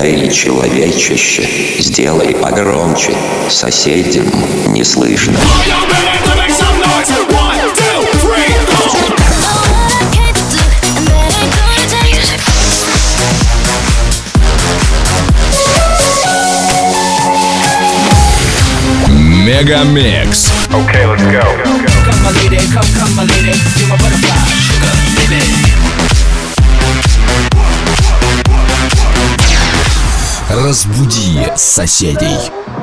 Эй, человечище, сделай погромче, соседям не слышно. Мегамикс. Okay, let's go. Come my lady, come my lady, you're my butterfly, sugar, baby. Разбуди соседей.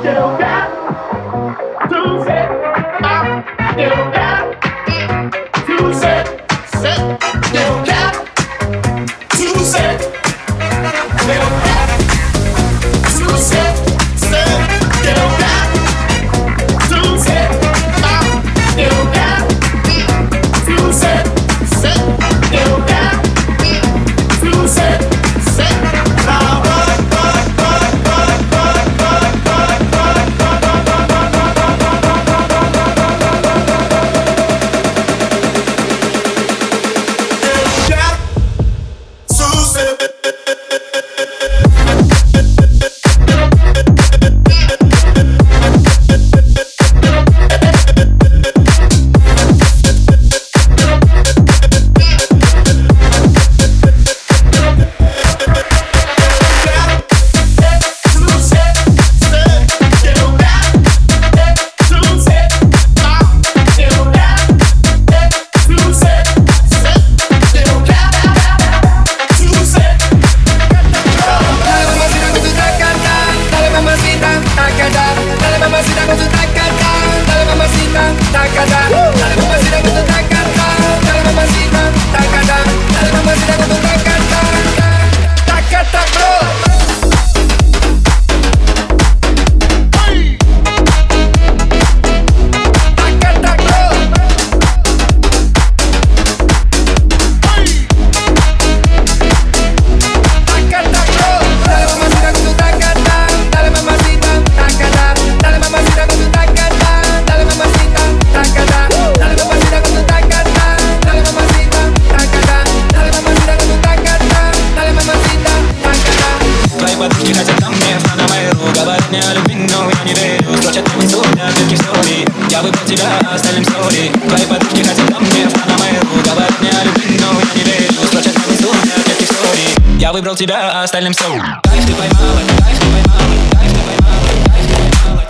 Я выбрал тебя, остальным все. Кайф ты поймала, кайф ты поймала, кайф ты поймала, кайф ты поймала.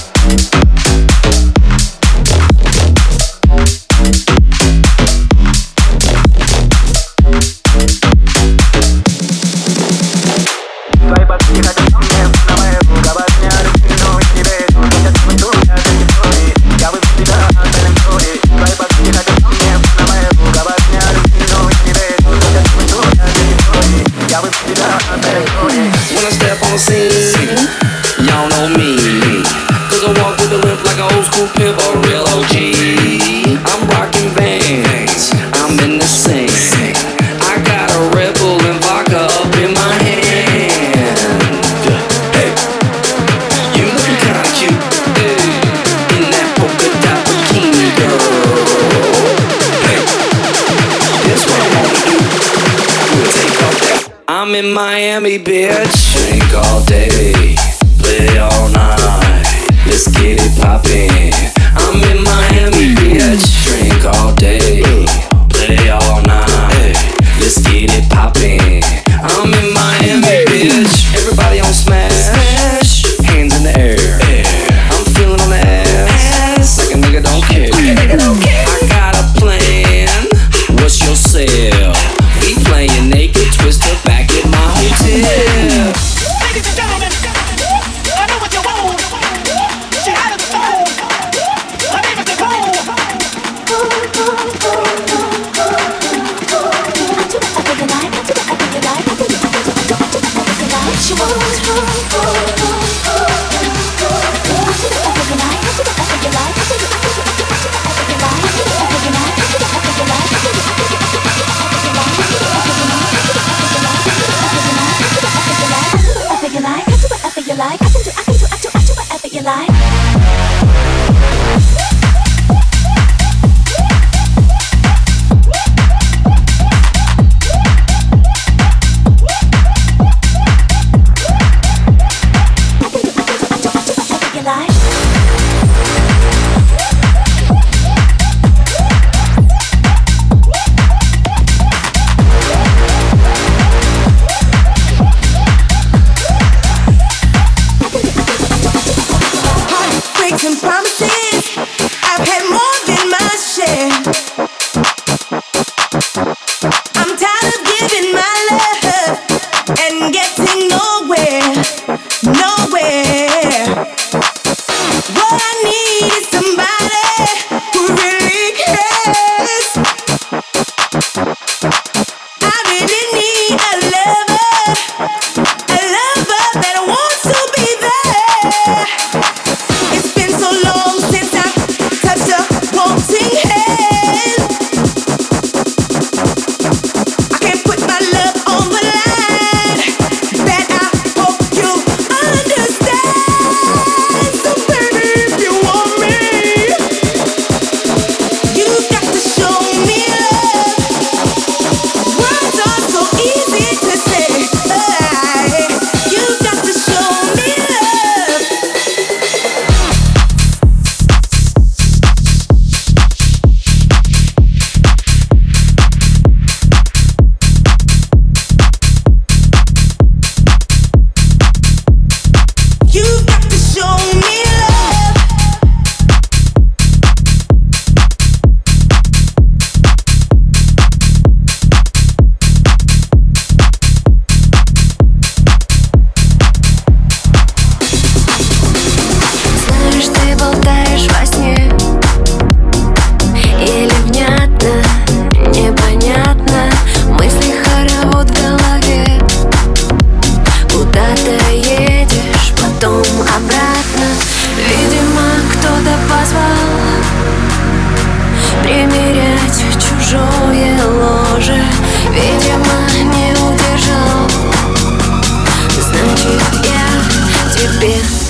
Твои подруги хотят ко мне, на моего говорят мне о любви, но их не верю. Хотят танцуют, я как истории. Я выбрал тебя, остальным все. Твои подруги хотят ко мне, на моего говорят мне о любви, но их не верю. Хотят танцуют, я как истории. Я выбрал тебя, остальным все. When I step on the scene, y'all know me. Cause I walk with a limp like an old school pimp or a real OG. I'm rocking Vans, I'm in the scene. I got a Red Bull and vodka up in my hand. Hey, you looking kinda cute, hey, in that polka dot bikini, girl. Hey, that's what I wanna do. We'll take off that. I'm in Miami, bitch. Drink all day, play all night. Let's get it poppin'. I'm in Miami, bitch. Drink all day, play all night. Let's get it poppin'. I'm in Miami, bitch. Everybody on smash, hands in the air. I'm feeling on the ass like a nigga don't care. I got a plan. What's your sale? We playin' naked, twister back at my hotel. Ladies and gentlemen, I know what you want. She out of the phone. Her name is Nicole.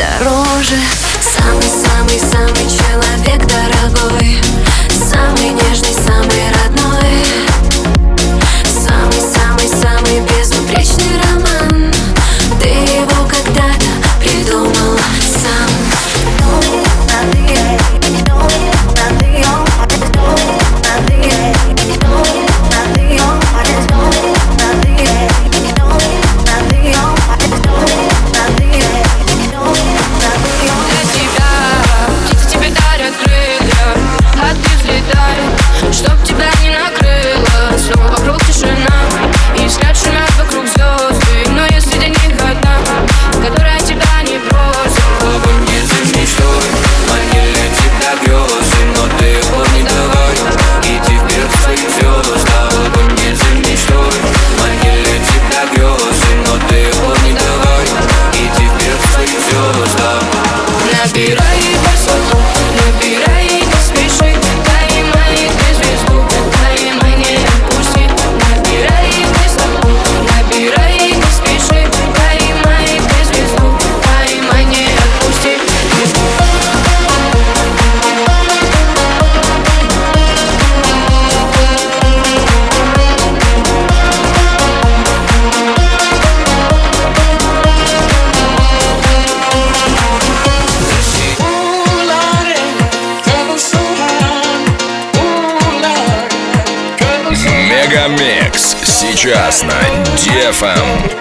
дороже. Самый-самый-самый человек дорогой, самый нежный, самый родной, самый-самый-самый безупречный роман. Ты его когда-то придумал сам. Чтоб тебя не накрыло, снова вокруг тишина, и взгляд шумят вокруг звезды. Но если для них одна, которая тебя не бросит, Огонь не за мечтой, манили тебя грезы, но ты его не давай, иди вперед к своим звездам. Огонь не за мечтой, манили тебя грезы, но ты его не давай, иди вперед к своим звездам. набирай высоту, набирай, не спеши, поймай ты звезду, поймай, не отпусти. Набирай высоту, набирай, не спеши, поймай ты звезду, поймай, не отпусти. Мегамикс сейчас на DFM.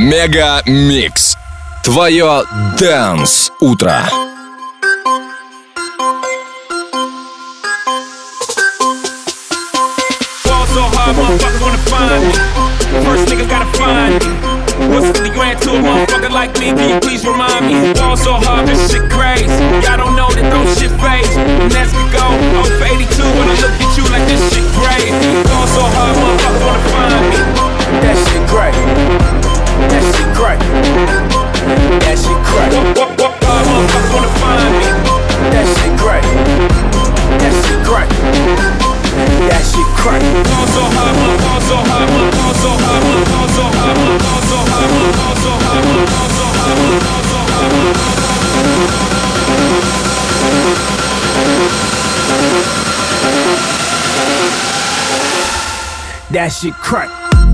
Мега Микс. Твое Dance утро. So hard, motherfuckers wanna find me. First nigga gotta find me. What's 50 grand to a motherfucker like me? Can you please remind me? Ball so hard, this shit crazy. Y'all don't know that those shit phase. And as we go, 0 for 82 when I look at you like this shit crazy. Ball so hard, motherfuckers wanna find me. That shit great. That shit great. That shit great. What hard motherfuckers wanna find me. That shit great. That shit great. That shit crack. Ball so hard, ball so hard, ball so hard, ball so hard, ball so hard, ball so hard, ball so hard, ball so hard. That shit crack.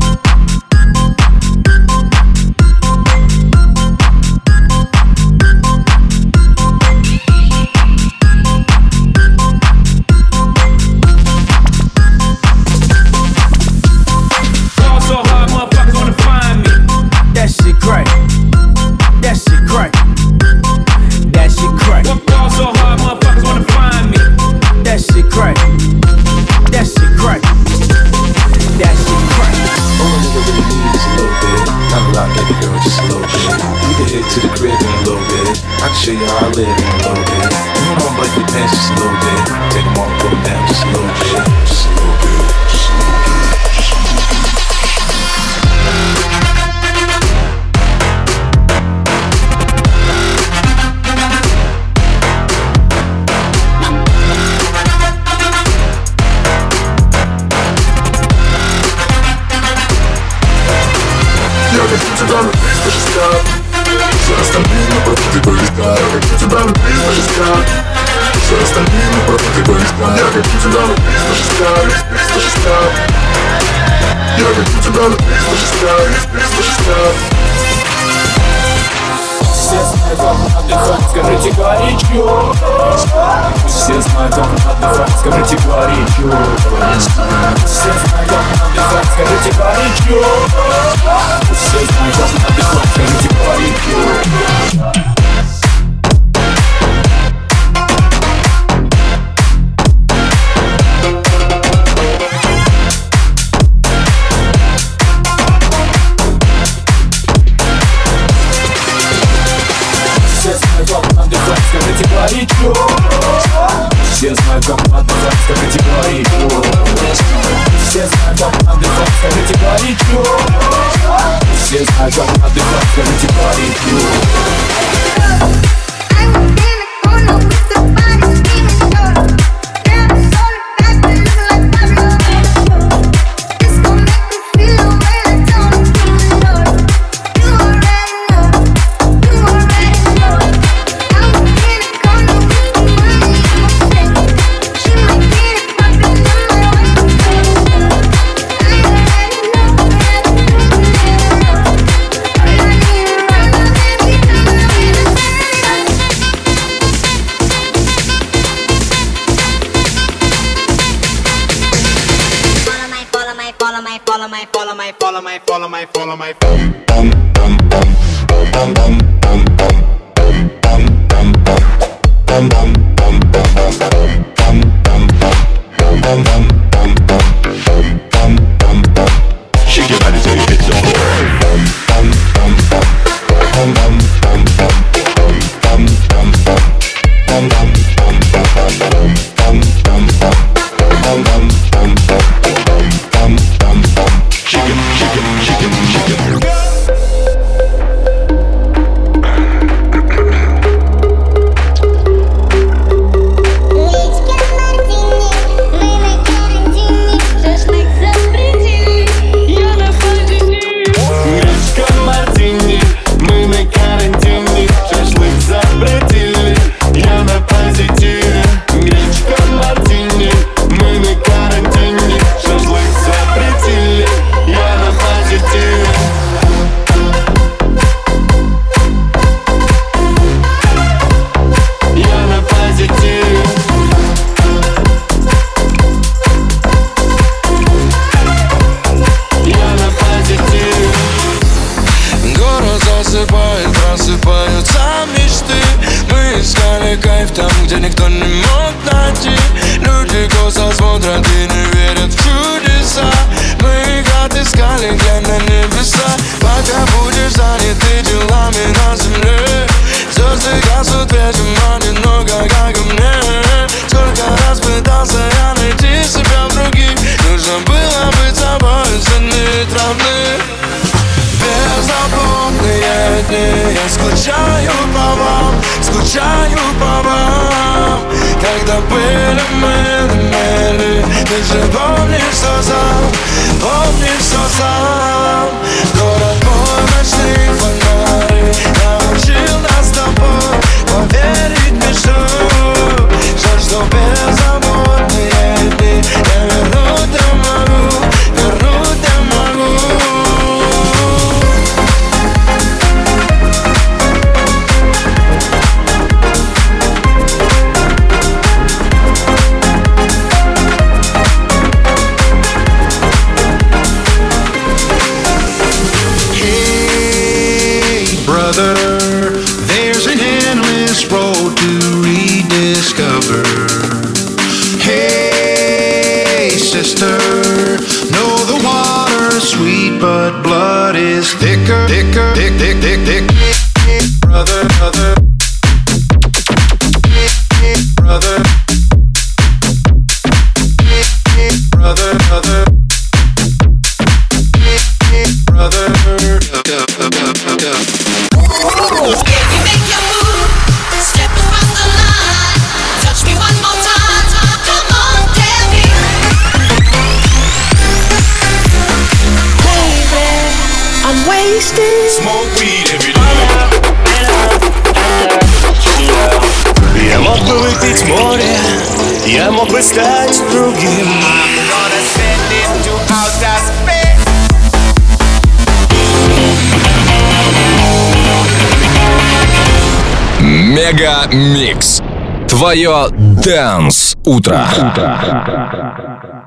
Show you how I live in a little bit. You know I'm like your pants just a little bit. Take them off, put them down just a little bit. Just a little bit. Just a little bit. Я хочу тебя любить, даже стать. Все остальные напротив ты близка. Я хочу тебя любить, даже стать. Все остальные напротив ты близка. Я хочу тебя любить, даже стать. Даже стать. Я хочу тебя любить, даже стать. Даже стать. Все знают, как отдыхать, скажите горячо. Все знают, как отдыхать, скажите горячо. Все знают, как отдыхать, скажите горячо. Все знают, как отдыхать, скажите горячо. Скажите горячо. Все знают, как отдыхать, скажите горячо. Все знают, как отдыхать, скажите горячо. Все знают, как отдыхать, скажите горячо. Follow my shake your body till you hit the где никто не мог найти. Люди косо смотрят и не верят в чудеса. Мы их отыскали, глянь на небеса. Пока будешь занят ты делами на земле, звезды гаснут, вечером одиноко, как и мне. Сколько раз пытался я найти себя в других, нужно было быть собой, ценить родных. Беззаботные дни, я скучаю по вам. Когда были мы на мели, ты же помнишь, что сам город мой, ночные фонари научил нас с тобой поверить в мечту. Жаль, что беззаботные дни я вернуть не могу. There's an endless road to rediscover. Hey, sister, know the water's sweet, but blood is thicker, thicker, thick, thick, thick, thick. Brother, brother, brother, brother, brother, brother. Smoke weed every day. Я мог бы выпить море, я мог бы стать другим. Мега Микс. Твое Dance утро.